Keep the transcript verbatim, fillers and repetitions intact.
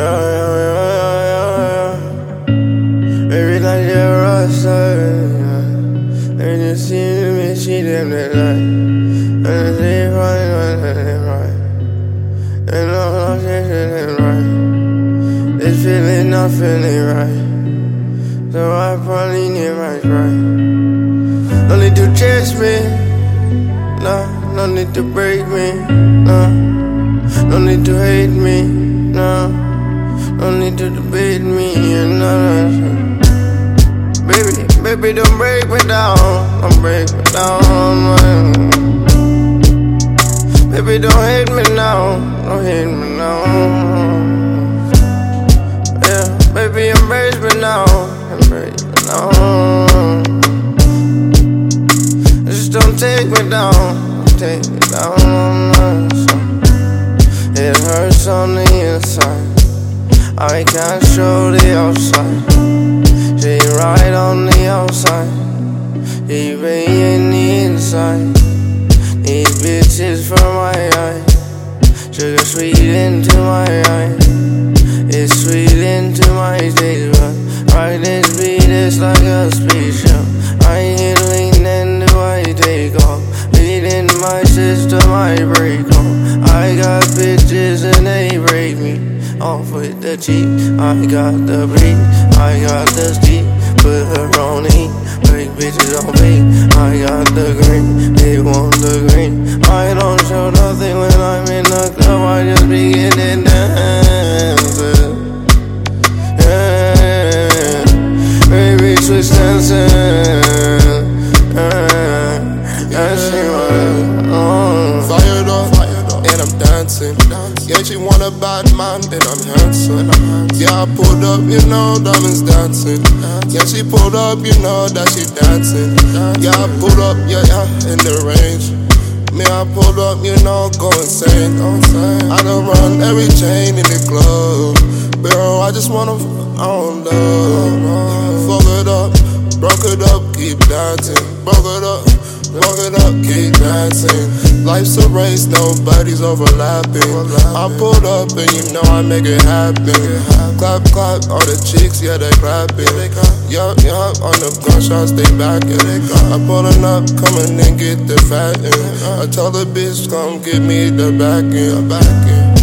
Yeah, yeah, yeah, yeah, yeah. Baby, like you're rockstar, yeah. And you see me, she them that like. And they right, and right. And all I'm saying right. This feeling not feeling right. So I probably need my right. No need to chase me, no. No need to break me, no. No need to hate me, no. No need to debate me, and no, no. Baby, baby, don't break me down, don't break me down, man. Baby, don't hate me now, don't hate me now. Yeah, baby, embrace me now, embrace me now. Just don't take me down, don't take me down. It hurts on the inside, I can't show the outside. She right on the outside, he be in the inside. These bitches from my eye, sugar sweet into my eye. It's sweet into my taste bud. Right, this beat is like a spaceship. I ain't lean and do I take off. Beating my system, I break off. I got bitches and they break me off with the cheek. I got the beat, I got the steep. Put her on E, break bitches on me. I got the green, they want the green. I don't show nothing when I'm in the club, I just be getting dancing. Yeah, baby, switch dancing. Yeah, she was on. Fired up, and I'm dancing. Yeah, she want a bad man, and I'm handsome. Yeah, I pulled up, you know, diamonds dancing. Yeah, she pulled up, you know that she dancing. Yeah, I pulled up, yeah, yeah, in the range. Me, I pulled up, you know, go insane. I done run every chain in the club. Bro, I just wanna, I don't love. Fuck it up, broke it up, keep dancing. Broke it up, broke it up, keep dancing. Life's a race, nobody's overlapping. I pulled up and you know I make it happen. Clap, clap, all the chicks, yeah, they clapping. Yup, yup, on the gunshots, they backing. I'm pulling up, coming and get the fatting. I tell the bitch, come give me the backing.